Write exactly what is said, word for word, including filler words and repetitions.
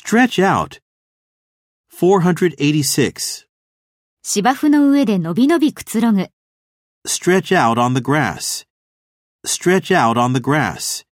Stretch out. four eighty-six. 芝生の上でのびのびくつろぐ。 Stretch out on the grass. Stretch out on the grass.